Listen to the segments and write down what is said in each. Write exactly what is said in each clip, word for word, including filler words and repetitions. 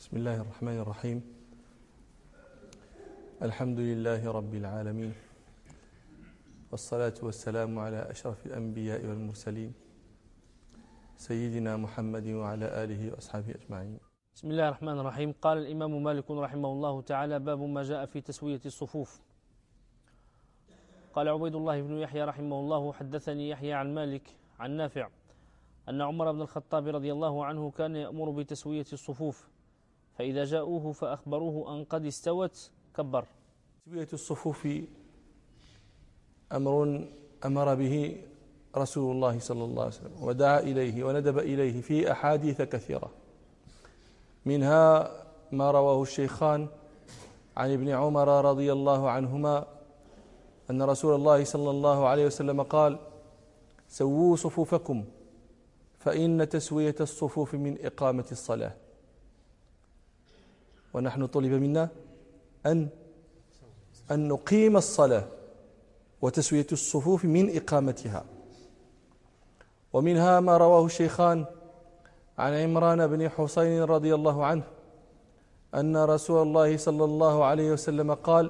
بسم الله الرحمن الرحيم. الحمد لله رب العالمين، والصلاة والسلام على أشرف الأنبياء والمرسلين سيدنا محمد وعلى آله وأصحابه أجمعين. بسم الله الرحمن الرحيم. قال الإمام مالك رحمه الله تعالى: باب ما جاء في تسوية الصفوف. قال عبيد الله بن يحيى رحمه الله: حدثني يحيى عن مالك عن نافع أن عمر بن الخطاب رضي الله عنه كان يأمر بتسوية الصفوف، فإذا جاءوه فأخبروه أن قد استوت كبر. تسوية الصفوف أمر أمر به رسول الله صلى الله عليه وسلم، ودعا إليه وندب إليه في أحاديث كثيرة، منها ما رواه الشيخان عن ابن عمر رضي الله عنهما أن رسول الله صلى الله عليه وسلم قال: سووا صفوفكم فإن تسوية الصفوف من إقامة الصلاة. ونحن طلب منا أن أن نقيم الصلاة، وتسوية الصفوف من إقامتها. ومنها ما رواه الشيخان عن عمران بن حسين رضي الله عنه أن رسول الله صلى الله عليه وسلم قال: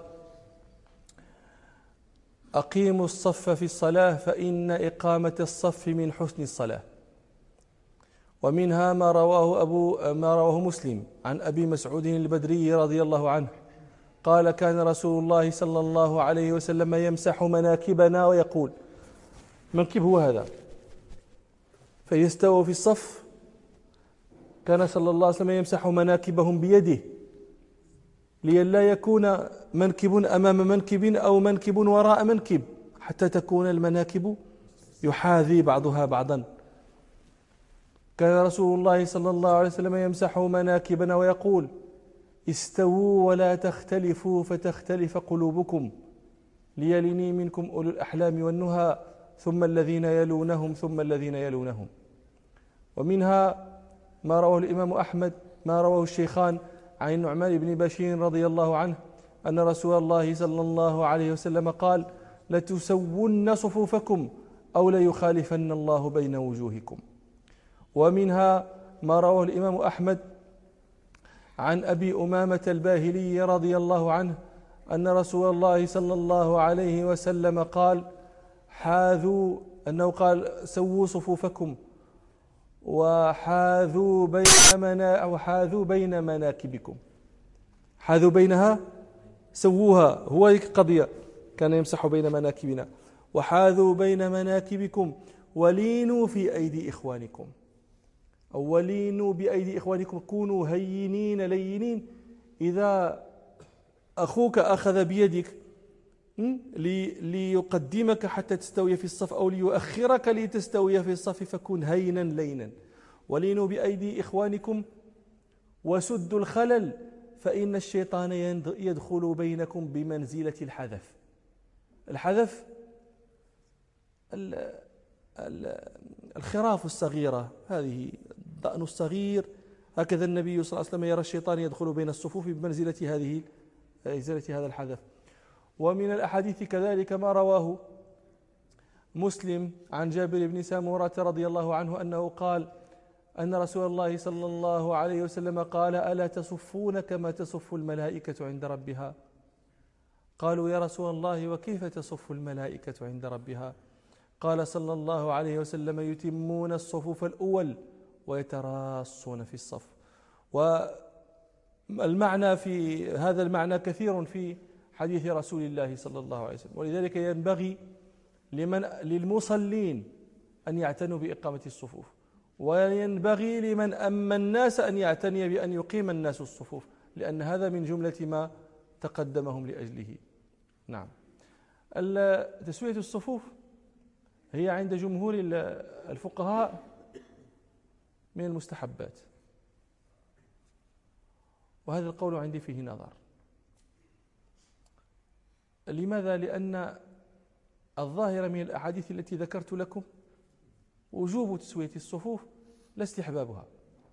أقيموا الصف في الصلاة فإن إقامة الصف من حسن الصلاة. ومنها ما رواه أبو ما رواه مسلم عن أبي مسعود البدري رضي الله عنه قال: كان رسول الله صلى الله عليه وسلم يمسح مناكبنا ويقول، منكب هو هذا، فيستووا في الصف كان صلى الله عليه وسلم يمسح مناكبهم بيده لئلا يكون منكب أمام منكب أو منكب وراء منكب، حتى تكون المناكب يحاذي بعضها بعضا. كان رسول الله صلى الله عليه وسلم يمسح مناكبنا ويقول: استووا ولا تختلفوا فتختلف قلوبكم، ليلني منكم أولو الأحلام والنهى ثم الذين يلونهم ثم الذين يلونهم. ومنها ما رواه الإمام أحمد ما رواه الشيخان عن النعمان بن بشير رضي الله عنه أن رسول الله صلى الله عليه وسلم قال: لتسون صفوفكم أو ليخالفن الله بين وجوهكم. ومنها ما رواه الإمام أحمد عن أبي أمامة الباهلي رضي الله عنه أن رسول الله صلى الله عليه وسلم قال: حاذوا أنه قال: سووا صفوفكم وحاذوا بين منا وحاذوا بين مناكبكم. حاذوا بينها، سووها، هو القضية، كان يمسح بين مناكبنا. وحاذوا بين مناكبكم ولينوا في أيدي إخوانكم، أو ولينوا بأيدي إخوانكم، كونوا هينين لينين. إذا أخوك أخذ بيدك ليقدمك حتى تستوي في الصف أو ليؤخرك لتستوي في الصف فكن هينا لينا. ولينوا بأيدي إخوانكم وسدوا الخلل فإن الشيطان يدخل بينكم بمنزلة الحذف. الحذف الخراف الصغيرة، هذه الضأن الصغير، هكذا النبي صلى الله عليه وسلم يرى الشيطان يدخل بين الصفوف بمنزلة هذه منزلة هذا الحذف. ومن الأحاديث كذلك ما رواه مسلم عن جابر بن سامورة رضي الله عنه أنه قال أن رسول الله صلى الله عليه وسلم قال: ألا تصفون كما تصف الملائكة عند ربها؟ قالوا: يا رسول الله وكيف تصف الملائكة عند ربها؟ قال صلى الله عليه وسلم: يتمون الصفوف الأول ويتراصون في الصف. والمعنى في هذا المعنى كثير في حديث رسول الله صلى الله عليه وسلم، ولذلك ينبغي لمن للمصلين أن يعتنوا بإقامة الصفوف، وينبغي لمن أما الناس أن يعتني بأن يقيم الناس الصفوف، لأن هذا من جملة ما تقدمهم لأجله. نعم. تسوية الصفوف هي عند جمهور الفقهاء من المستحبات، وهذا القول عندي فيه نظر. لماذا؟ لأن الظاهر من الأحاديث التي ذكرت لكم وجوب تسوية الصفوف لا استحبابها،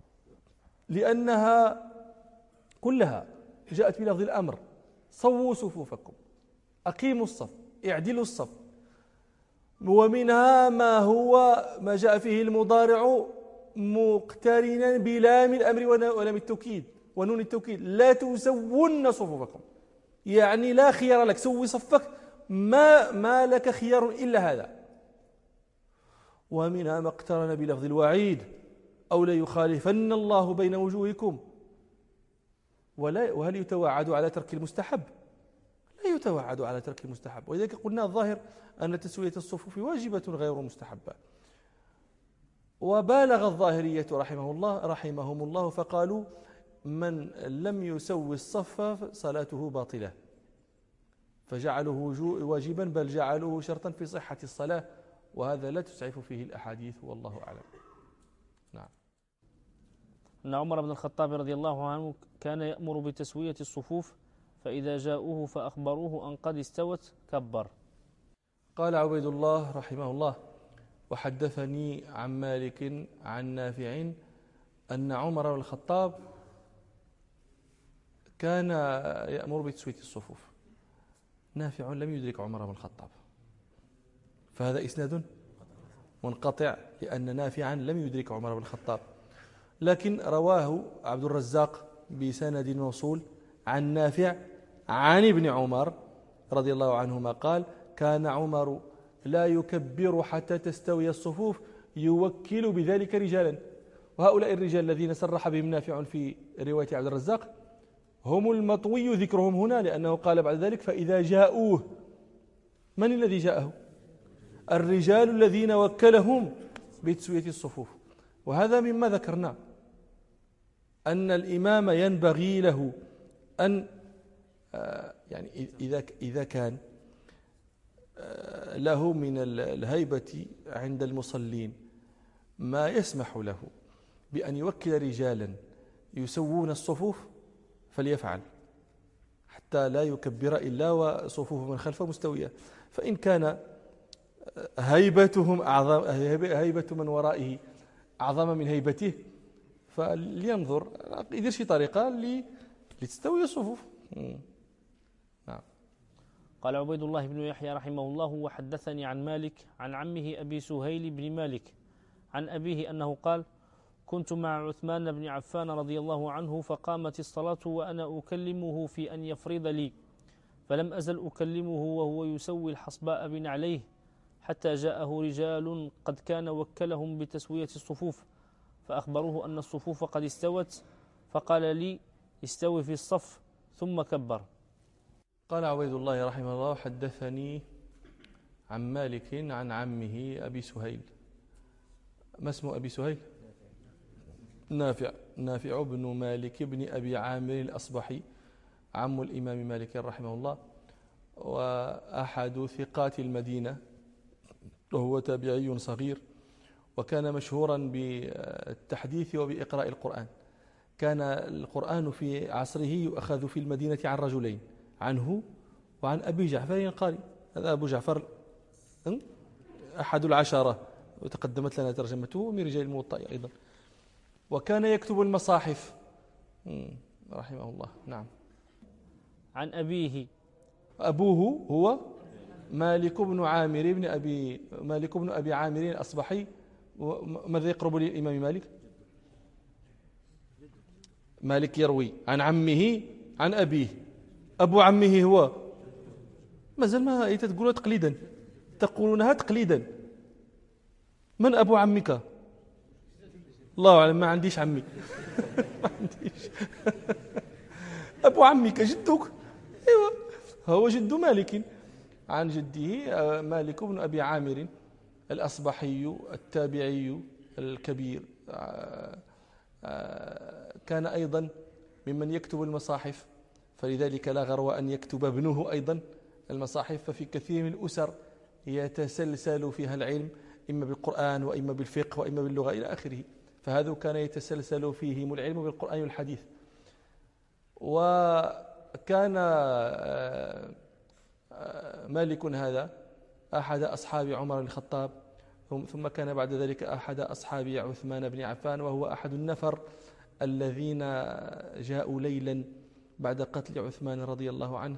لأنها كلها جاءت بلفظ الأمر: صووا صفوفكم، أقيموا الصف، اعدلوا الصف. ومنها ما هو ما جاء فيه المضارع مقترنا بلام الأمر ولام التوكيد، ونون التوكيد، لا تسون صفوفكم، يعني لا خيار لك، سوي صفك، ما, ما لك خيار إلا هذا. ومنها ما اقترن بلفظ الوعيد أو ليخالفن الله بين وجوهكم. ولا وهل يتوعد على ترك المستحب؟ لا يتوعد على ترك المستحب، ولذلك قلنا الظاهر أن تسوية الصفوف واجبة غير مستحبة. وبالغ الظاهرية رحمه الله رحمهم الله فقالوا من لم يسوي الصف صلاته باطلة، فجعلوه واجبا، بل جعلوه شرطا في صحة الصلاة، وهذا لا تسعف فيه الأحاديث والله أعلم. نعم. أن عمر بن الخطاب رضي الله عنه كان يأمر بتسوية الصفوف، فإذا جاءوه فأخبروه أن قد استوت كبر. قال عبيد الله رحمه الله: وحدثني عن مالك عن نافع أن عمر بن الخطاب كان يأمر بتسوية الصفوف. نافع لم يدرك عمر بن الخطاب، فهذا إسناد منقطع، لأن نافعا لم يدرك عمر بن الخطاب، لكن رواه عبد الرزاق بسند موصول عن نافع عن ابن عمر رضي الله عنهما قال: كان عمر لا يكبر حتى تستوي الصفوف، يوكل بذلك رجالا. وهؤلاء الرجال الذين صرح بهم نافع في رواية عبد الرزاق هم المطوي ذكرهم هنا، لأنه قال بعد ذلك: فإذا جاءوه. من الذي جاءه؟ الرجال الذين وكلهم بتسوية الصفوف. وهذا مما ذكرنا، أن الإمام ينبغي له أن يعني إذا إذا كان له من الهيبة عند المصلين ما يسمح له بأن يوكل رجالا يسوون الصفوف فليفعل، حتى لا يكبر إلا وصفوف من خلفه مستوية. فإن كان هيبتهم أعظم، هيبة من ورائه أعظم من هيبته، فلينظر يدير شي طريقة لتستوي الصفوف. نعم. قال عبيد الله بن يحيى رحمه الله: وحدثني عن مالك عن عمه أبي سهيل بن مالك عن أبيه أنه قال: كنت مع عثمان بن عفان رضي الله عنه، فقامت الصلاة وأنا أكلمه في أن يفرض لي، فلم أزل أكلمه وهو يسوي الحصباء بنعليه، حتى جاءه رجال قد كان وكلهم بتسوية الصفوف، فأخبروه أن الصفوف قد استوت، فقال لي: استوي في الصف، ثم كبر. قال عبيد الله رحمه الله: حدثني عن مالك عن عمه أبي سهيل. ما اسم أبي سهيل؟ نافع. نافع بن مالك بن أبي عامر الأصبحي، عم الإمام مالك رحمه الله، وأحد ثقات المدينة، وهو تابعي صغير، وكان مشهورا بالتحديث وبإقراء القرآن. كان القرآن في عصره يؤخذ في المدينة عن رجلين، عنه وعن أبي جعفر قاري. هذا أبو جعفر أحد العشرة، وتقدمت لنا ترجمته من رجال الموطأ أيضا، وكان يكتب المصاحف رحمه الله. نعم. عن أبيه. أبوه هو مالك بن عامر بن أبي مالك بن أبي عامر الأصبحي. ماذا يقرب للإمام مالك؟ مالك يروي عن عمه عن أبيه. أبو عمه هو مازال ما تقولها تقليدا، تقولونها تقليدا. من أبو عمك؟ الله أعلم، ما عنديش عمي. ما عنديش. أبو عمك جدك؟ أيوة، هو جد مالك عن جده مالك بن أبي عامر الأصبحي التابعي الكبير. كان أيضا ممن يكتب المصاحف، فلذلك لا غرو أن يكتب ابنه أيضا المصاحف. ففي كثير من الأسر يتسلسل فيها العلم، إما بالقرآن وإما بالفقه وإما باللغة إلى آخره، فهذا كان يتسلسل فيهم العلم بالقرآن والحديث. وكان مالك هذا أحد أصحاب عمر بن الخطاب، ثم كان بعد ذلك أحد أصحاب عثمان بن عفان، وهو أحد النفر الذين جاءوا ليلا بعد قتل عثمان رضي الله عنه،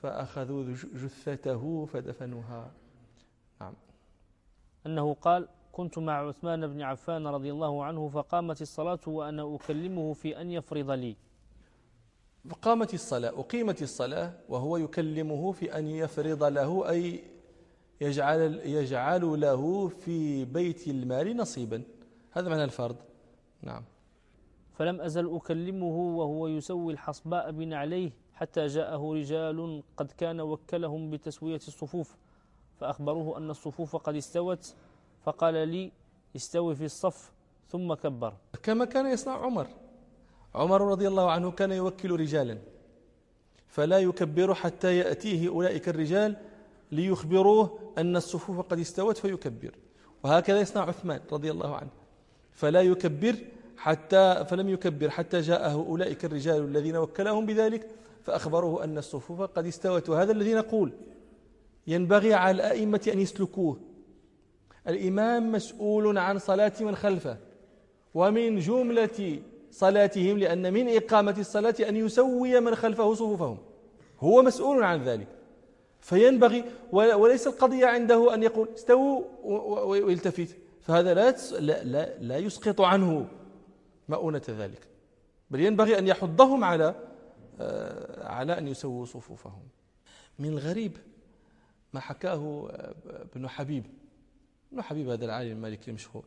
فأخذوا جثته فدفنوها. نعم. أنه قال: كنت مع عثمان بن عفان رضي الله عنه فقامت الصلاة وأنا أكلمه في أن يفرض لي. قامت الصلاة أقيمت الصلاة وهو يكلمه في أن يفرض له، أي يجعل, يجعل له في بيت المال نصيبا، هذا معنى الفرض. نعم. فلم أزل أكلمه وهو يسوي الحصباء بنعليه حتى جاءه رجال قد كان وكلهم بتسوية الصفوف فأخبروه أن الصفوف قد استوت، فقال لي استوي في الصف ثم كبر. كما كان يصنع عمر. عمر رضي الله عنه كان يوكل رجالا فلا يكبر حتى يأتيه أولئك الرجال ليخبروه أن الصفوف قد استوت فيكبر، وهكذا يصنع عثمان رضي الله عنه، فلا يكبر حتى فلم يكبر حتى جاءه أولئك الرجال الذين وكلهم بذلك فأخبروه أن الصفوف قد استوت. وهذا الذي نقول ينبغي على الأئمة أن يسلكوه. الإمام مسؤول عن صلاة من خلفه، ومن جملة صلاتهم لأن من إقامة الصلاة أن يسوي من خلفه صفوفهم، هو مسؤول عن ذلك. فينبغي، وليس القضية عنده أن يقول استووا ويلتفت، فهذا لا لا لا يسقط عنه مؤونة ذلك، بل ينبغي أن يحضهم على على أن يسووا صفوفهم. من الغريب ما حكاه ابن حبيب. ابن حبيب هذا العالم المالكي المشهور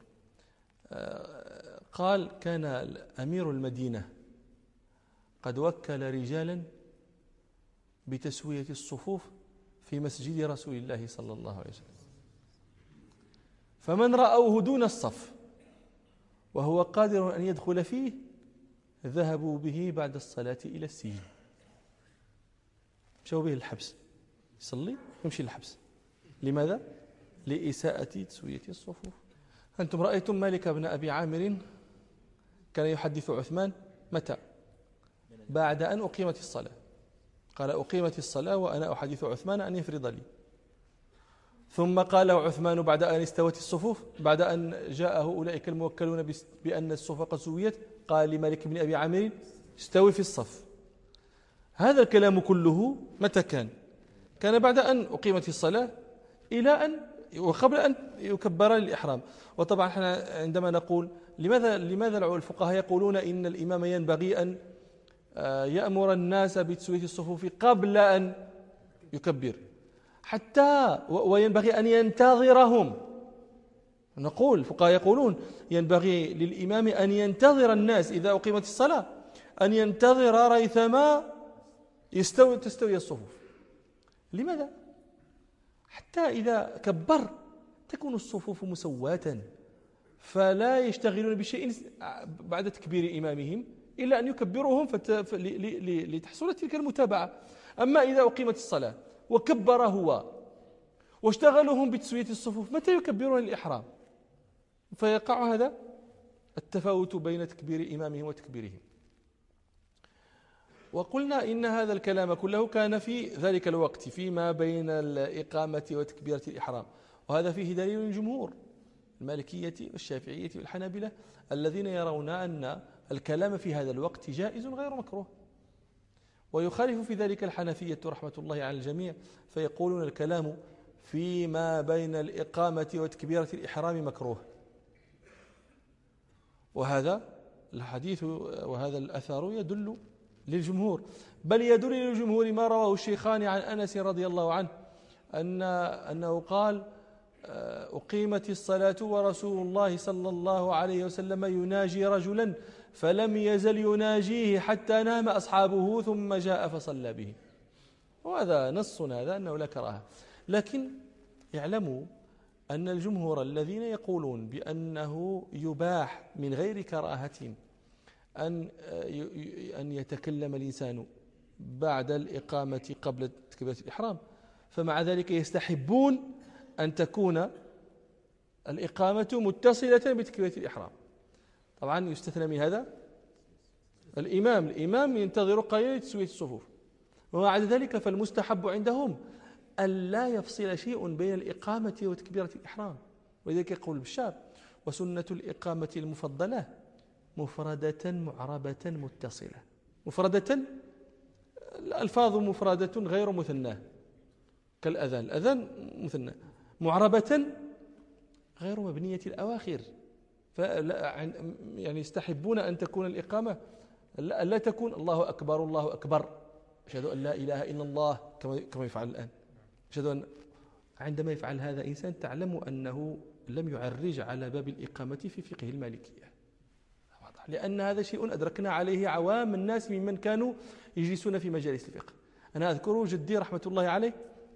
قال كان أمير المدينة قد وكل رجالا بتسوية الصفوف في مسجد رسول الله صلى الله عليه وسلم، فمن رأوه دون الصف وهو قادر أن يدخل فيه ذهبوا به بعد الصلاة إلى السجن، مشوا به الحبس، يصلي يمشي للحبس. لماذا؟ لإساءة تسوية الصفوف. أنتم رأيتم مالك بن أبي عامر كان يحدث عثمان متى؟ بعد أن أقيمت الصلاة، قال أقيمت الصلاة وأنا أحدث عثمان أن يفرض لي. ثم قال عثمان بعد أن استوت الصفوف، بعد أن جاءه أولئك الموكلون بأن الصفوف قد سويت، قال لمالك بن أبي عامر استوي في الصف. هذا الكلام كله متى كان؟ كان بعد أن أقيمت الصلاة إلى أن وقبل أن يكبر للإحرام. وطبعا احنا عندما نقول لماذا لماذا الفقهاء يقولون إن الإمام ينبغي أن يأمر الناس بتسوية الصفوف قبل أن يكبر، حتى وينبغي أن ينتظرهم. نقول الفقهاء يقولون ينبغي للإمام أن ينتظر الناس إذا أقيمت الصلاة، أن ينتظر ريثما يستوي تستوي الصفوف. لماذا؟ حتى إذا كبر تكون الصفوف مسواة، فلا يشتغلون بشيء بعد تكبير إمامهم إلا أن يكبروهم لتحصل تلك المتابعة. أما إذا أقيمت الصلاة وكبر هو واشتغلهم بتسوية الصفوف، متى يكبرون الإحرام؟ فيقع هذا التفاوت بين تكبير إمامهم وتكبيرهم. وقلنا إن هذا الكلام كله كان في ذلك الوقت فيما بين الإقامة وتكبيرة الإحرام، وهذا فيه دليل الجمهور المالكية والشافعية والحنابلة الذين يرون أن الكلام في هذا الوقت جائز غير مكروه. ويخالف في ذلك الحنفية رحمة الله على الجميع، فيقولون الكلام فيما بين الإقامة وتكبيرة الإحرام مكروه. وهذا الحديث وهذا الأثر يدل للجمهور، بل يدل للجمهور ما رواه الشيخان عن أنس رضي الله عنه أن أنه قال أقيمت الصلاة ورسول الله صلى الله عليه وسلم يناجي رجلا فلم يزل يناجيه حتى نام أصحابه ثم جاء فصلى به. وهذا نص هذا أنه لا كراهة، لكن يعلموا أن الجمهور الذين يقولون بأنه يباح من غير كراهة أن أن يتكلم الإنسان بعد الإقامة قبل تكبيرة الإحرام، فمع ذلك يستحبون أن تكون الإقامة متصلة بتكبيرة الإحرام. طبعا يستثنى من هذا الإمام الإمام ينتظر قليلا لتسوية الصفوف. ومع ذلك فالمستحب عندهم أن لا يفصل شيء بين الإقامة وتكبيرة الإحرام. ولذلك يقول البشار وسنة الإقامة المفضلة مفردة معربة متصلة. مفردة الألفاظ مفردة غير مثناه كالأذان، الأذان مثنى. معربة غير مبنية الأواخر، فلا يعني يستحبون أن تكون الإقامة لا, لا تكون الله أكبر الله أكبر أشهد أن لا إله إلا الله كما يفعل الآن. أشهد أن عندما يفعل هذا إنسان تعلم أنه لم يعرج على باب الإقامة في فقه المالكية، لأن هذا شيء أدركنا عليه عوام الناس ممن كانوا يجلسون في مجالس الفقه. أنا أذكر جدي رحمة الله عليه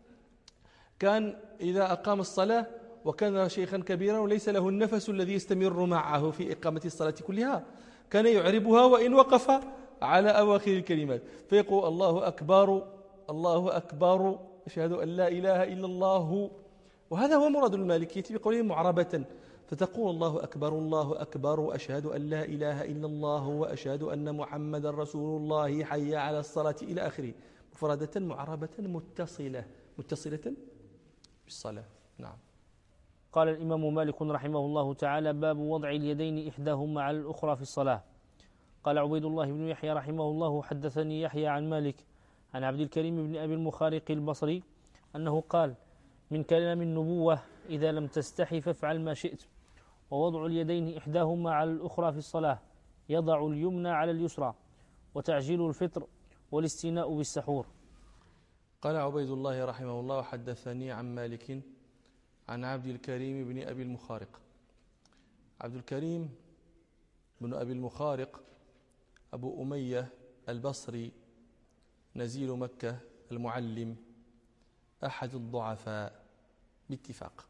كان إذا أقام الصلاة وكان شيخا كبيرا وليس له النفس الذي يستمر معه في إقامة الصلاة كلها، كان يعربها وإن وقف على أواخر الكلمات، فيقول الله أكبر الله أكبر أشهد أن لا إله إلا الله. وهذا هو مراد المالكية بقولهم معربة، فتقول الله أكبر الله أكبر أشهد أن لا إله إلا الله وأشهد أن محمد رسول الله حي على الصلاة إلى آخره، مفردة معربة متصلة متصلة بالصلاة. نعم. قال الإمام مالك رحمه الله تعالى: باب وضع اليدين إحداهما على الأخرى في الصلاة. قال عبيد الله بن يحيى رحمه الله: حدثني يحيى عن مالك عن عبد الكريم بن أبي المخارق البصري أنه قال: من كلام النبوة إذا لم تستحي فافعل ما شئت، ووضع اليدين إحداهما على الأخرى في الصلاة، يضع اليمنى على اليسرى، وتعجيل الفطر، والاستيناء بالسحور. قال عبيد الله رحمه الله: حدثني عن مالك عن عبد الكريم بن أبي المخارق. عبد الكريم بن أبي المخارق أبو أمية البصري نزيل مكة المعلم، أحد الضعفاء باتفاق.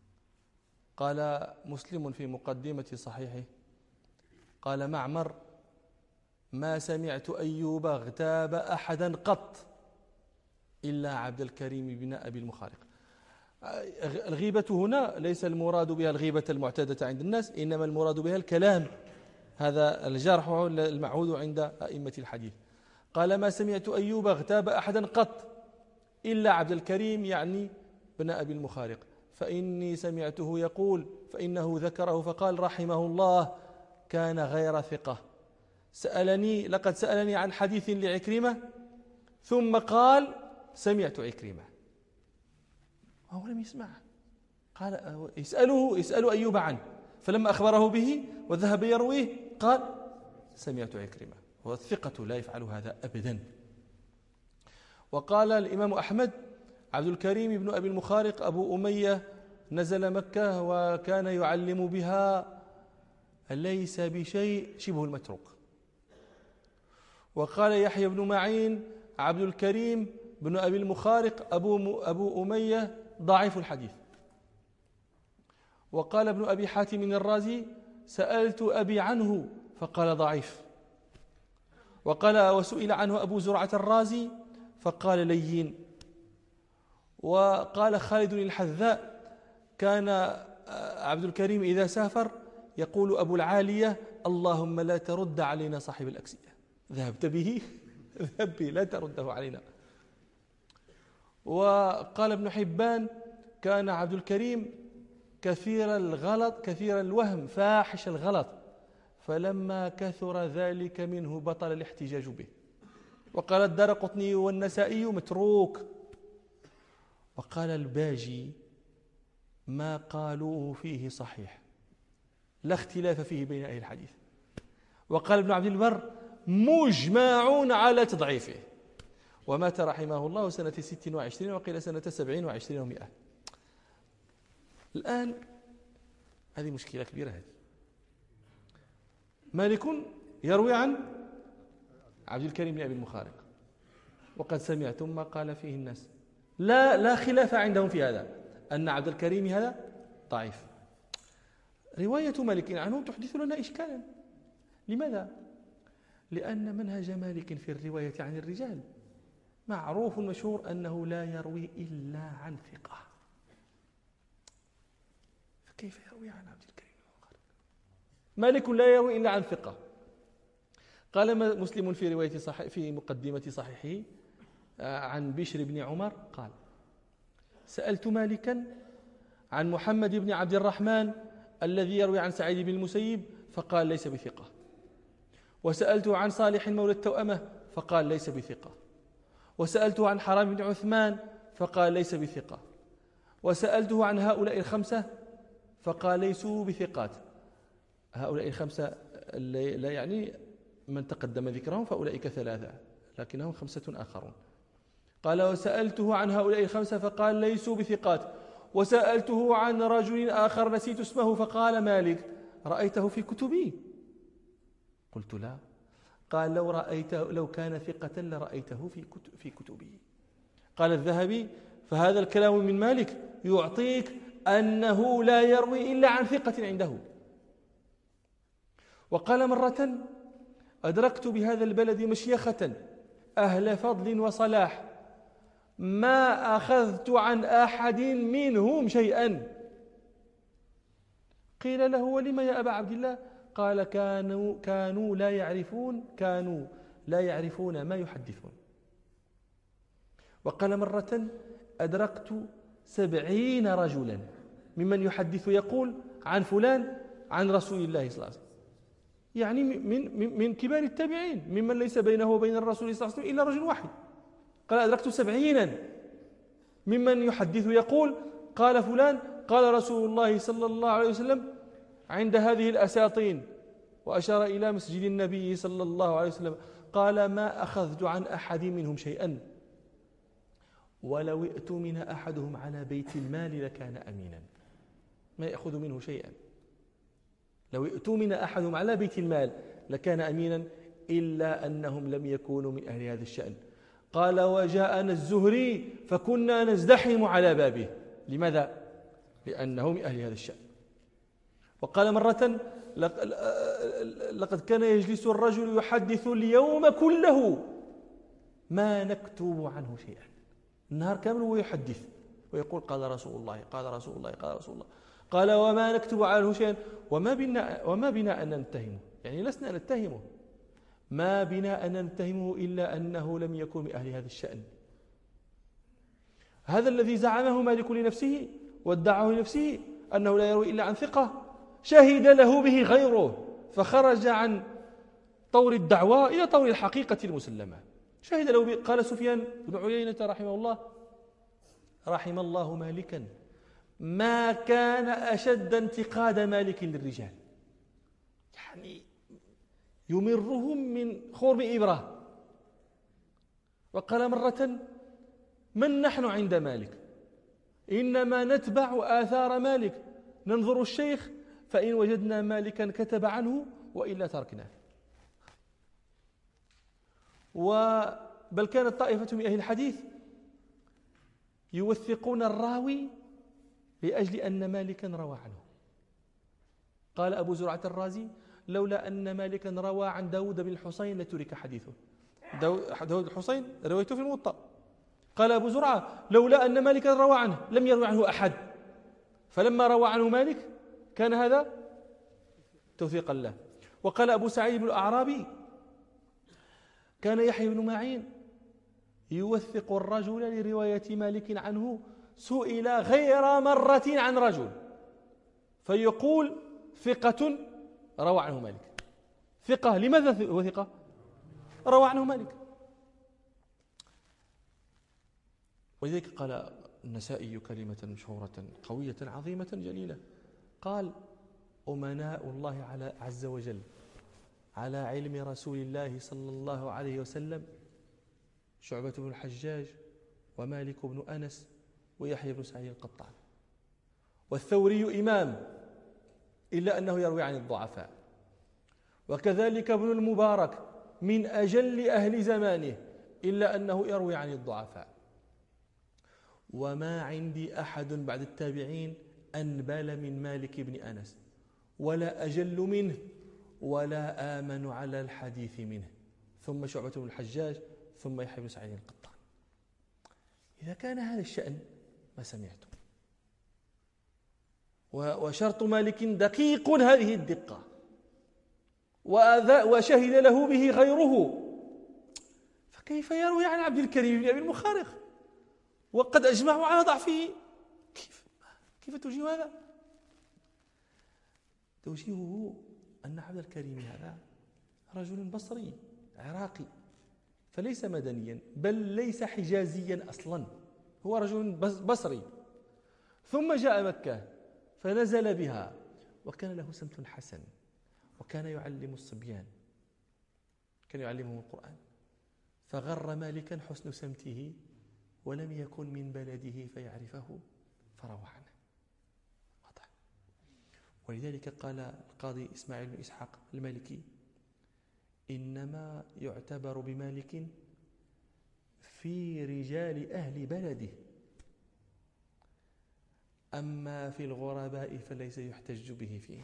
قال مسلم في مقدمة صحيحه: قال معمر: ما سمعت أيوب اغتاب أحدا قط إلا عبد الكريم بن أبي المخارق. الغيبة هنا ليس المراد بها الغيبة المعتادة عند الناس، إنما المراد بها الكلام، هذا الجرح المعهود عند أئمة الحديث. قال: ما سمعت أيوب اغتاب أحدا قط إلا عبد الكريم يعني بن أبي المخارق، فإني سمعته يقول، فإنه ذكره فقال رحمه الله: كان غير ثقة، سألني لقد سألني عن حديث لعكرمة ثم قال سمعت عكرمة، وهو لم يسمع. قال يسأله يسأل أيوب عنه، فلما أخبره به وذهب يرويه قال سمعت عكرمة، والثقة لا يفعل هذا أبدا. وقال الإمام أحمد: عبد الكريم بن أبي المخارق أبو أمية نزل مكة وكان يعلم بها ليس بشيء شبه المتروك. وقال يحيى بن معين: عبد الكريم بن أبي المخارق أبو, أبو أمية ضعيف الحديث. وقال ابن أبي حاتم الرازي: سألت أبي عنه فقال ضعيف. وقال وسئل عنه أبو زرعة الرازي فقال لين. وقال خالد الحذاء: كان عبد الكريم إذا سافر يقول أبو العالية: اللهم لا ترد علينا صاحب الأكسية، ذهبت به ذهب به لا ترده علينا. وقال ابن حبان: كان عبد الكريم كثير الغلط كثير الوهم فاحش الغلط، فلما كثر ذلك منه بطل الاحتجاج به. وقال الدارقطني والنسائي: متروك. وقال الباجي: ما قالوه فيه صحيح، لا اختلاف فيه بين أهل الحديث. وقال ابن عبد البر: مجمعون على تضعيفه. ومات رحمه الله سنة ست وعشرين وقيل سنة سبعين وعشرين ومئة. الآن هذه مشكلة كبيرة. هذه مالك يروي عن عبد الكريم بن أبي المخارق، وقد سمعتم ما قال فيه الناس، لا لا خلاف عندهم في هذا، أن عبد الكريم هذا ضعيف. رواية مالك عنه تحدث لنا إشكالا. لماذا؟ لأن منهج مالك في الرواية عن الرجال معروف مشهور أنه لا يروي إلا عن ثقة، فكيف يروي عن عبد الكريم بن المخارق؟ مالك لا يروي إلا عن ثقة. قال مسلم في رواية صحيح في مقدمة صحيحه عن بشر بن عمر قال: سألت مالكا عن محمد بن عبد الرحمن الذي يروي عن سعيد بن المسيب فقال ليس بثقة. وسألته عن صالح مولى التوأمة فقال ليس بثقة. وسألته عن حرام بن عثمان فقال ليس بثقة. وسألته عن هؤلاء الخمسة فقال ليسوا بثقات. هؤلاء الخمسة لا يعني من تقدم ذكرهم، فأولئك ثلاثة لكنهم خمسة آخرون. قال وسألته عن هؤلاء الخمسة فقال ليسوا بثقات. وسألته عن رجل آخر نسيت اسمه فقال مالك رأيته في كتبي؟ قلت لا. قال لو رأيته لو كان ثقة لرأيته في كتب في كتبه. قال الذهبي فهذا الكلام من مالك يعطيك أنه لا يروي إلا عن ثقة عنده. وقال مرة أدركت بهذا البلد مشيخة أهل فضل وصلاح ما أخذت عن أحد منهم شيئا. قيل له ولم يا أبا عبد الله؟ قال كانوا, كانوا لا يعرفون كانوا لا يعرفون ما يحدثون. وقال مرة أدركت سبعين رجلا ممن يحدث يقول عن فلان عن رسول الله صلى الله عليه وسلم، يعني من, من كبار التابعين ممن ليس بينه وبين الرسول صلى الله عليه وسلم إلا رجل واحد. قال أدركت سبعينا ممن يحدث يقول قال فلان قال رسول الله صلى الله عليه وسلم عند هذه الأساطين، وأشار إلى مسجد النبي صلى الله عليه وسلم. قال ما أخذت عن أحد منهم شيئا، ولو ائتمن أحدهم على بيت المال لكان أمينا. ما يأخذ منه شيئا، لو ائتمن أحدهم على بيت المال لكان أمينا، إلا أنهم لم يكونوا من أهل هذا الشأن. قال وجاءنا الزهري فكنا نزدحم على بابه. لماذا؟ لأنه من أهل هذا الشأن. وقال مرة لقد كان يجلس الرجل يحدث اليوم كله ما نكتب عنه شيئا، النهار كامل ويحدث ويقول قال رسول الله قال رسول الله قال رسول الله. قال وما نكتب عنه شيئا وما بنا, وما بنا أن نتهمه، يعني لسنا نتهمه، ما بنا أن نتهمه إلا أنه لم يكن من أهل هذا الشأن. هذا الذي زعمه مالك لنفسه وادعاه لنفسه أنه لا يروي إلا عن ثقة، شهد له به غيره فخرج عن طور الدعوة إلى طور الحقيقة المسلمة. شهد له به. قال سفيان بن عيينة رحمه الله رحم الله مالكا ما كان أشد انتقاد مالك للرجال، يعني يمرهم من خرم إبرة. وقال مرة من نحن عند مالك؟ إنما نتبع آثار مالك، ننظر الشيخ فإن وجدنا مالكا كتب عنه وإلا تركناه. بل كانت طائفة من أهل الحديث يوثقون الراوي لأجل أن مالكا روى عنه. قال أبو زرعة الرازي لولا أن مالكا روى عن داود بن الحسين لترك حديثه. داود الحسين رويته في الموطأ. قال أبو زرعة لولا أن مالكا روى عنه لم يروي عنه أحد، فلما روى عنه مالك كان هذا توثيقا له. وقال أبو سعيد بن الأعرابي كان يحيى بن معين يوثق الرجل لرواية مالك عنه، سئل غير مرة عن رجل فيقول ثقة روى عنه مالك. ثقة لماذا هو ثقة؟ روى عنه مالك. ولذلك قال النسائي كلمة مشهورة قوية عظيمة جليلة، قال أمناء الله على عز وجل على علم رسول الله صلى الله عليه وسلم شعبة بن الحجاج ومالك بن أنس ويحيى بن سعيد القطان. والثوري إمام إلا أنه يروي عن الضعفاء، وكذلك ابن المبارك من أجل أهل زمانه إلا أنه يروي عن الضعفاء. وما عندي أحد بعد التابعين أنبل من مالك بن أنس ولا أجل منه ولا آمن على الحديث منه، ثم شعبة بن الحجاج ثم يحيى بن سعيد القطان. إذا كان هذا الشأن ما سمعتم. وشرط مالك دقيق هذه الدقة، وشهد له به غيره، فكيف يروي عن عبد الكريم بن أبي المخارق وقد أجمعوا على ضعفه؟ كيف كيف توجيه هذا؟ توجيهه أن عبد الكريم هذا رجل بصري عراقي، فليس مدنيا بل ليس حجازيا أصلا، هو رجل بصري ثم جاء مكة فنزل بها، وكان له سمت حسن، وكان يعلم الصبيان، كان يعلمهم القرآن، فغر مالكا حسن سمته ولم يكن من بلده فيعرفه فروى عنه. واضح. ولذلك قال القاضي إسماعيل بن إسحاق المالكي: إنما يعتبر بمالك في رجال أهل بلده، أما في الغرباء فليس يحتج به فيه.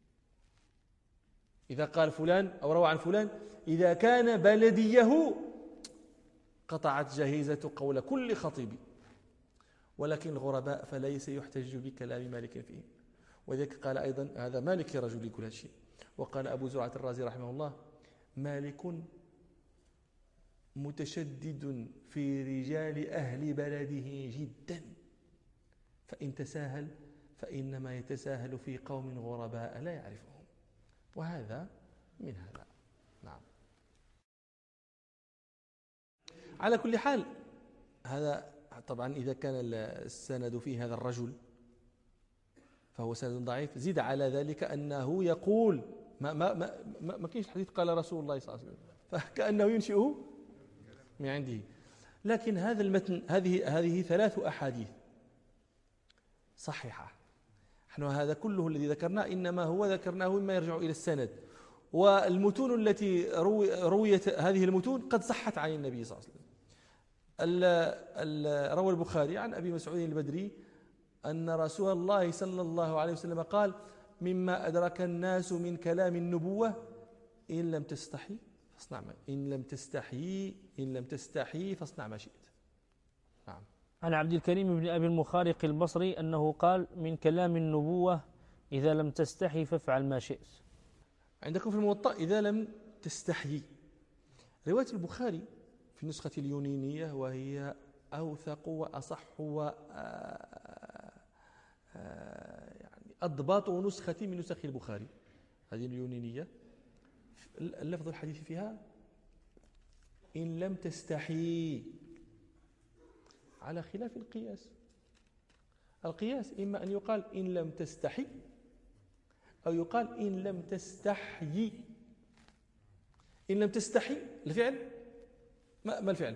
إذا قال فلان أو روى عن فلان إذا كان بلديه قطعت جهيزة قول كل خطيب، ولكن الغرباء فليس يحتج بكلام مالك فيه. وذلك قال أيضا هذا مالك رجل كل شيء. وقال أبو زرعة الرازي رحمه الله: مالك متشدد في رجال أهل بلده جدا، فإن تساهل فإنما يتساهل في قوم غرباء لا يعرفهم. وهذا من هذا. نعم. على كل حال هذا طبعا إذا كان السند فيه هذا الرجل فهو سند ضعيف. زيد على ذلك أنه يقول ما ما ما ما, ما كاينش الحديث قال رسول الله صلى الله عليه وسلم، فكأنه ينشئه من عنده. لكن هذا المتن هذه هذه ثلاث أحاديث صحيحة. نحن هذا كله الذي ذكرناه إنما هو ذكرناه مما يرجع إلى السند، والمتون التي روي رويت هذه المتون قد صحت عن النبي صلى الله عليه وسلم. روى البخاري عن أبي مسعود البدري أن رسول الله صلى الله عليه وسلم قال: مما أدرك الناس من كلام النبوة إن لم تستحي فاصنع ما إن لم تستحي إن لم تستحي فاصنع ما شئت. نعم. عن عبد الكريم بن أبي المخارق البصري أنه قال: من كلام النبوة إذا لم تستحي فافعل ما شئت. عندكم في الموطأ إذا لم تستحي. رواية البخاري في النسخة اليونانية وهي أوثق وأصح و يعني أضبط نسخة من نسخ البخاري، هذه اليونانية. اللفظ الحديث فيها إن لم تستحي، على خلاف القياس. القياس إما أن يقال إن لم تستحي أو يقال إن لم تستحيي. إن لم تستحي الفعل ما, ما الفعل؟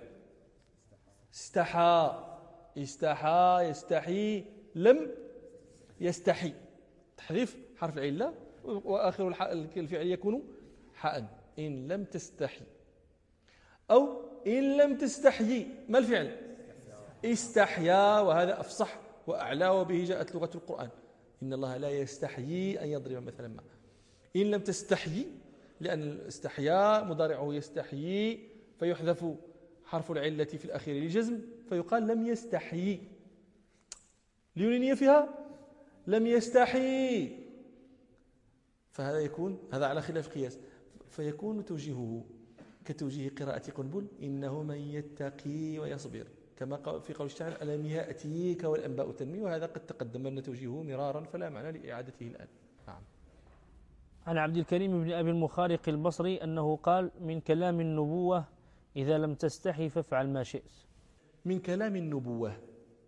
استحى استحى يستحي لم يستحي، تحذيف حرف العلة وآخر الفعل يكون حاء. إن لم تستحي. أو إن لم تستحيي ما الفعل؟ استحيا، وهذا أفصح وأعلى وبه جاءت لغة القرآن. إن الله لا يستحيي أن يضرب مثلا ما. إن لم تستحيي، لأن الاستحياء مضارعه يستحيي فيحذف حرف العلة في الأخير للجزم فيقال لم يستحيي. اليونانية فيها لم يستحي، فهذا يكون هذا على خلاف قياس، فيكون توجيهه كتوجيه قراءة قنبل: إنه من يتقي ويصبر، كما في قول الشاعر: ألم يأتيك والأنباء تنمي. وهذا قد تقدم لنا توجيهه مرارا فلا معنى لإعادته الآن. نعم. عن عبد الكريم بن أبي المخارق البصري أنه قال: من كلام النبوة إذا لم تستحي فافعل ما شئت. من كلام النبوة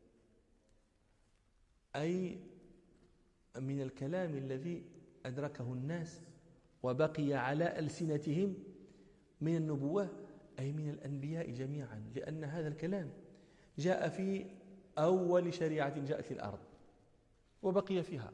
أي من الكلام الذي أدركه الناس وبقي على ألسنتهم من النبوة، أي من الأنبياء جميعا، لأن هذا الكلام جاء في أول شريعة جاءت للأرض وبقي فيها.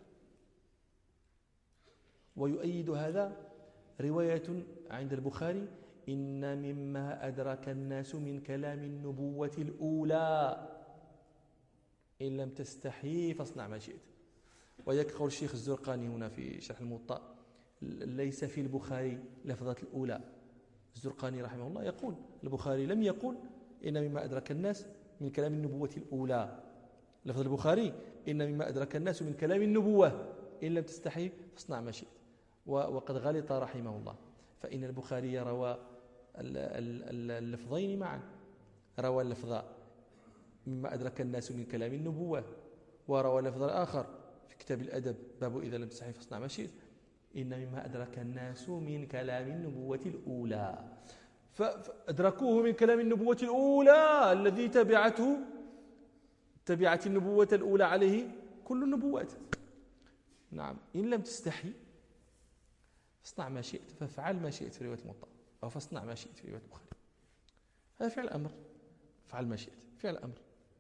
ويؤيد هذا رواية عند البخاري: إن مما أدرك الناس من كلام النبوة الأولى إن لم تستحي فاصنع ما شئت. ويك قول الشيخ الزرقاني هنا في شرح الموطأ: ليس في البخاري لفظة الأولى. الزرقاني رحمه الله يقول: البخاري لم يقل إن مما أدرك الناس من كلام النبوة الأولى. لفظ البخاري: إن مما أدرك الناس من كلام النبوة إن لم تستحي فاصنع ما شئت. وقد غلط رحمه الله، فإن البخاري روى اللفظين معا، روى اللفظ مما أدرك الناس من كلام النبوة، وروى اللفظ الآخر في كتاب الأدب باب إذا لم تستحي فاصنع ما شئت: إن مما أدرك الناس من كلام النبوة الأولى. فأدركوه من كلام النبوة الأولى الذي تبعته تبعت النبوة الأولى عليه كل النبوات. نعم إن لم تستحي فاصنع ما شئت، فافعل ما شئت في رواية الموطأ، أو فاصنع ما شئت في رواية البخاري. هذا فعل أمر، فعل ما شئت فعل أمر.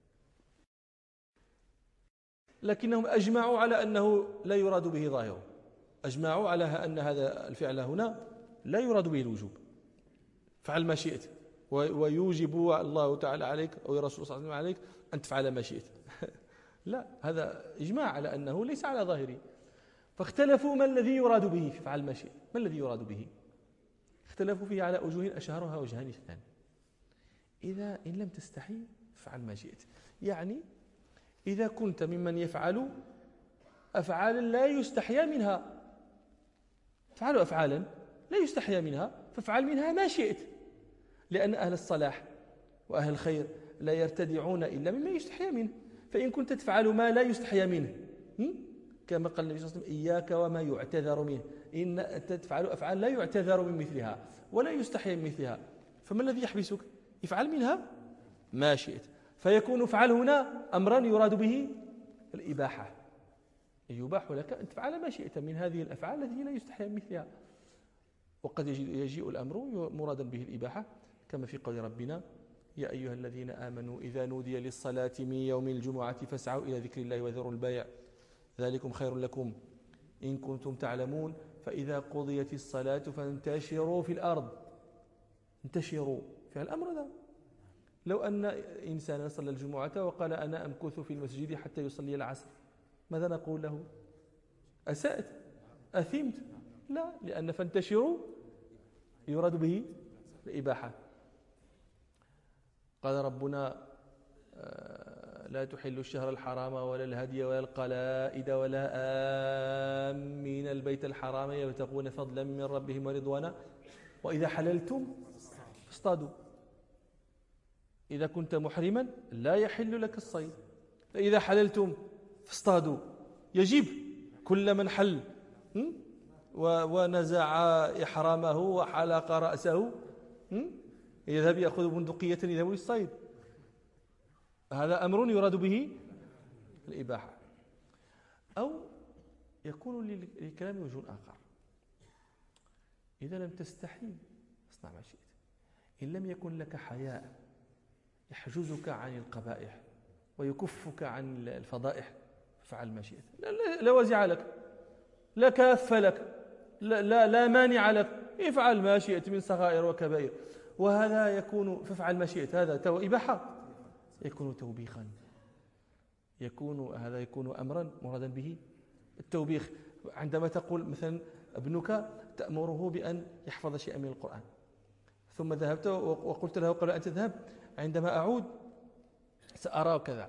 لكنهم أجمعوا على أنه لا يراد به ظاهره، أجمعوا على أن هذا الفعل هنا لا يراد به الوجوب، فعل ما شئت، ويوجب الله تعالى عليك أو الرسول صلى الله عليه وسلم عليك أن تفعل ما شئت. لا، هذا إجماع على أنه ليس على ظاهره. فاختلفوا ما الذي يراد به في فعل ما شئت، ما الذي يراد به؟ اختلفوا فيه على وجوه أشهرها وجهان اثنان. إذا إن لم تستحي فعل ما شئت، يعني إذا كنت ممن يفعل أفعالا لا يستحيا منها، فعلوا أفعالا لا يستحيا منها فافعل منها ما شئت، لأن أهل الصلاح وأهل الخير لا يرتدعون إلا مما يستحيا منه. فإن كنت تفعل ما لا يستحيا منه، كما قال النبي صلى الله عليه وسلم إياك وما يعتذر منه، إن تفعل أفعال لا يعتذر من مثلها ولا يستحيا من مثلها، فما الذي يحبسك؟ افعل منها ما شئت. فيكون افعل هنا أمرا يراد به الإباحة، يباح لك أن تفعل ما شئت من هذه الأفعال التي لا يستحيا من مثلها. وقد يجيء الأمر مرادا به الإباحة، كما في قول ربنا يا أيها الذين آمنوا إذا نودي للصلاة من يوم الجمعة فاسعوا إلى ذكر الله وذروا البيع ذلكم خير لكم إن كنتم تعلمون فإذا قضيت الصلاة فانتشروا في الأرض. انتشروا في الأمر هذا. لو أن إنسانا صلى الجمعة وقال أنا أمكث في المسجد حتى يصلي العصر، ماذا نقول له؟ أسأت؟ أثمت؟ لا، لأن فانتشروا يراد به الإباحة. قال ربنا لا تحلوا الشهر الحرام ولا الهدي ولا القلائد ولا آمين البيت الحرام يبتغون فضلا من ربهم ورضوانا وإذا حللتم فاصطادوا. إذا كنت محرما لا يحل لك الصيد، فإذا حللتم فاصطادوا. يجب كل من حل ونزع إحرامه وحلق رأسه يذهب يأخذ بندقية يذهب للصيد، هذا أمر يراد به الإباحة. أو يكون للكلام وجه آخر، إذا لم تستحي اصنع ما شئت، إن لم يكن لك حياء يحجزك عن القبائح ويكفك عن الفضائح فعل ما شئت، لا, لا, لا وزع لك، لا كاف لك، لا, لا, لا مانع لك، افعل ما شئت من صغائر وكبائر. وهذا يكون فافعل ما شئت، هذا تو إباحة، يكون توبيخا، يكون هذا يكون أمرا مرادا به التوبيخ. عندما تقول مثلا ابنك تأمره بأن يحفظ شيئا من القرآن، ثم ذهبت وقلت له قبل أن تذهب عندما أعود سأرى كذا،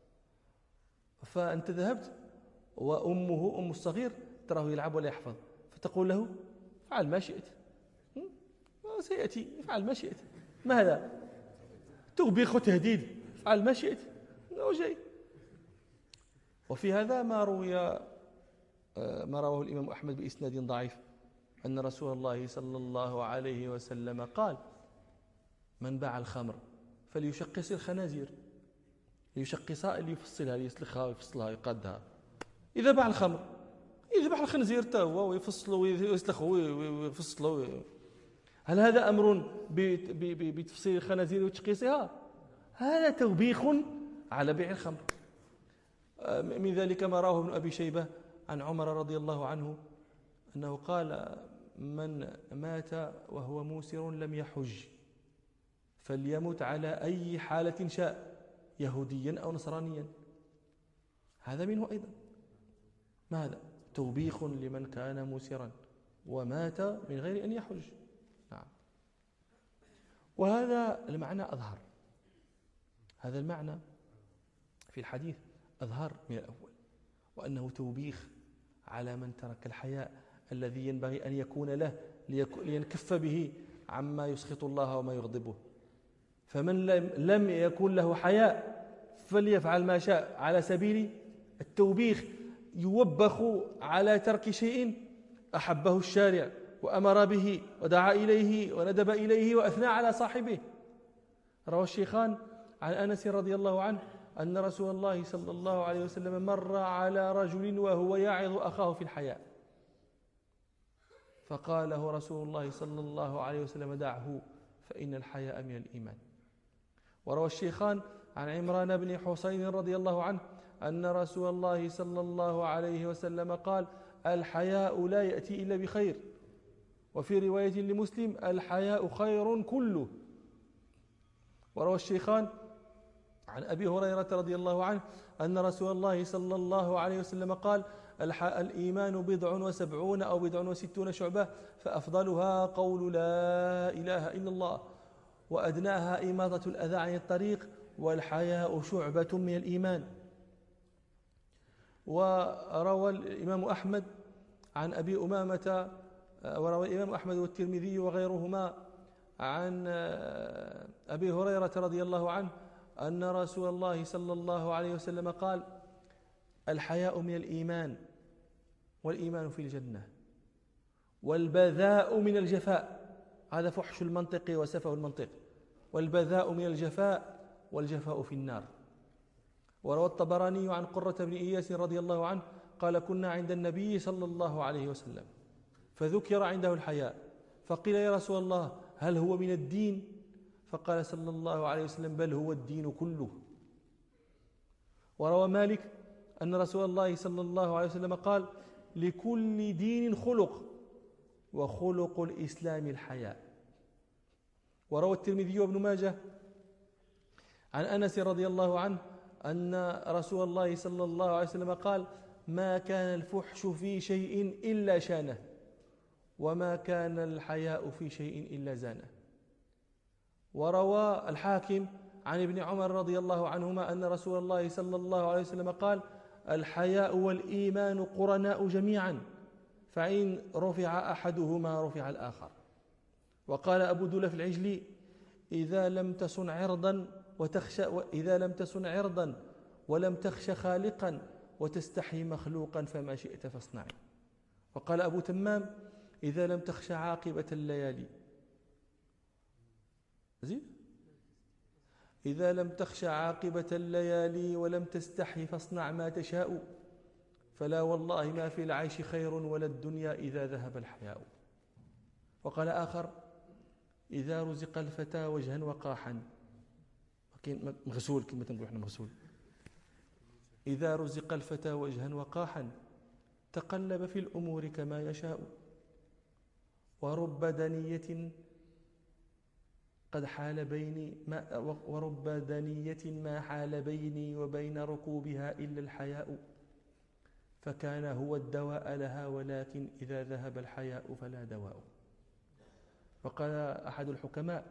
فأنت ذهبت وأمه أم الصغير تراه يلعب ولا يحفظ، فتقول له فعل ما شئت، سيأتي فعل ما شئت. ما هذا؟ توبيخ وتهديد، فعل ما شئت جاي. وفي هذا ما روي ما رواه الإمام أحمد بإسناد ضعيف أن رسول الله صلى الله عليه وسلم قال من باع الخمر فليشقص الخنازير، ليشقصها اللي يفصلها ليسلخها ويفصلها يقدها. إذا باع الخمر يذبح الخنزير تا هو ويفصله ويسلخه ويفصله. هل هذا أمر بتفصيل الخنازير وتشقيصها؟ هذا توبيخ على بيع الخمر. من ذلك ما رواه ابن أبي شيبة عن عمر رضي الله عنه أنه قال من مات وهو موسر لم يحج فليمت على أي حالة شاء يهوديا أو نصرانيا. هذا منه أيضا. ماذا؟ توبيخ لمن كان موسرا ومات من غير أن يحج. نعم. وهذا المعنى أظهر، هذا المعنى في الحديث أظهر من الأول، وأنه توبيخ على من ترك الحياء الذي ينبغي أن يكون له لينكف به عما يسخط الله وما يغضبه. فمن لم يكن له حياء فليفعل ما شاء على سبيل التوبيخ، يوبخ على ترك شيء أحبه الشارع وأمر به ودعا إليه وندب إليه وأثنى على صاحبه. روى الشيخان عن أنس رضي الله عنه أن رسول الله صلى الله عليه وسلم مر على رجل وهو يعظ أخاه في الحياء، فقال له رسول الله صلى الله عليه وسلم: دعه فإن الحياء من الإيمان. وروى الشيخان عن عمران بن حسين رضي الله عنه أن رسول الله صلى الله عليه وسلم قال: الحياء لا يأتي إلا بخير. وفي رواية لمسلم: الحياء خير كله. وروى الشيخان عن أبي هريرة رضي الله عنه أن رسول الله صلى الله عليه وسلم قال: الإيمان بضع وسبعون أو بضع وستون شعبة، فأفضلها قول لا إله إلا الله، وأدناها إماطة الأذى عن الطريق، والحياء شعبة من الإيمان. وروى الإمام أحمد عن أبي أمامة وروى الإمام أحمد والترمذي وغيرهما عن أبي هريرة رضي الله عنه أن رسول الله صلى الله عليه وسلم قال: الحياء من الإيمان، والإيمان في الجنة، والبذاء من الجفاء. هذا فحش المنطق وسفه المنطق. والبذاء من الجفاء، والجفاء في النار. وروى الطبراني عن قرة بن إياس رضي الله عنه قال: كنا عند النبي صلى الله عليه وسلم فذكر عنده الحياء، فقيل: يا رسول الله، هل هو من الدين؟ فقال صلى الله عليه وسلم: بل هو الدين كله. وروى مالك أن رسول الله صلى الله عليه وسلم قال: لكل دين خلق، وخلق الإسلام الحياء. وروى الترمذي وابن ماجه عن أنس رضي الله عنه أن رسول الله صلى الله عليه وسلم قال: ما كان الفحش في شيء إلا شانه، وما كان الحياء في شيء إلا زانه. وروى الحاكم عن ابن عمر رضي الله عنهما أن رسول الله صلى الله عليه وسلم قال: الحياء والإيمان قرناء جميعا، فإن رفع أحدهما رفع الآخر. وقال أبو دلف العجلي: إذا لم تصن عرضا وتخشى إذا لم تصن عرضا ولم تخش خالقا وتستحي مخلوقا فما شئت فاصنعي. وقال أبو تمام: إذا لم تخش عاقبة الليالي زين إذا لم تخش عاقبة الليالي ولم تستحي فاصنع ما تشاء، فلا والله ما في العيش خير ولا الدنيا إذا ذهب الحياء. وقال آخر: إذا رزق الفتى وجها وقاحا، مغسول كما تنقول احنا مغسول، إذا رزق الفتى وجها وقاحا تقلب في الأمور كما يشاء، ورب دنية قد حال بيني ما ورب دنية ما حال بيني وبين ركوبها إلا الحياء، فكان هو الدواء لها، ولكن إذا ذهب الحياء فلا دواء. وقال أحد الحكماء: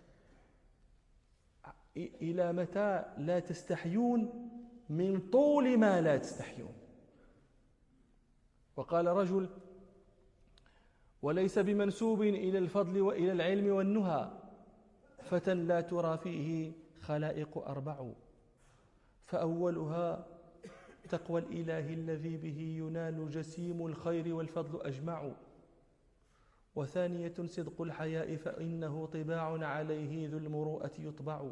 إلى متى لا تستحيون من طول ما لا تستحيون. وقال رجل: وليس بمنسوب إلى الفضل وإلى العلم والنهى فتى لا ترى فيه خلائق أربع، فأولها تقوى الإله الذي به ينال جسيم الخير والفضل أجمع، وثانية صدق الحياء فإنه طباع عليه ذو المروءة يطبع،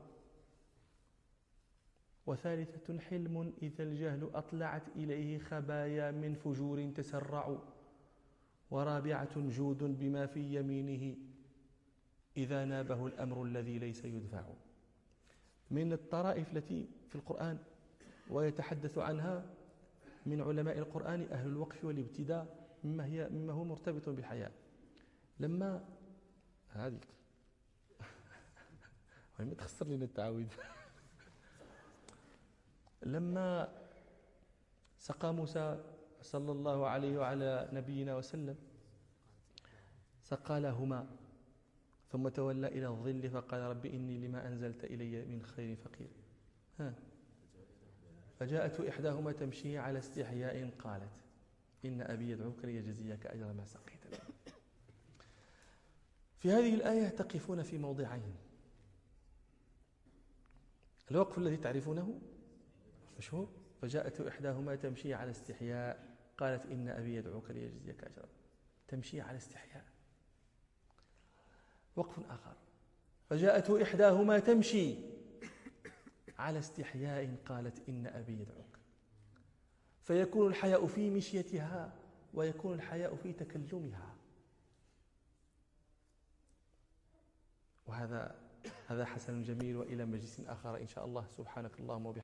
وثالثة حلم إذا الجهل أطلعت إليه خبايا من فجور تسرع، ورابعة جود بما في يمينه إذا نابه الأمر الذي ليس يدفع. من الطرائف التي في القرآن ويتحدث عنها من علماء القرآن أهل الوقف والابتداء مما, هي مما هو مرتبط بالحياة. لما هذه ما تخسر لنا التعاويذ لما سقى موسى صلى الله عليه وعلى نبينا وسلم سقى لهما ثم تولى إلى الظل فقال: رب إني لما أنزلت إلي من خير فقير. ها فجاءت إحداهما تمشي على استحياء قالت: إن أبي يدعوك ليجزيك أجر ما سقيت له. في هذه الآية تقفون في موضعين: الوقف الذي تعرفونه مشهور: فجاءت إحداهما تمشي على استحياء قالت إن أبي يدعوك ليجزيك أجرا. تمشي على استحياء. وقف آخر: فجاءت إحداهما تمشي على استحياء قالت إن أبي يدعوك، فيكون الحياء في مشيتها ويكون الحياء في تكلمها. وهذا هذا حسن جميل. وإلى مجلس آخر إن شاء الله. سبحانك اللهم وبحمدك.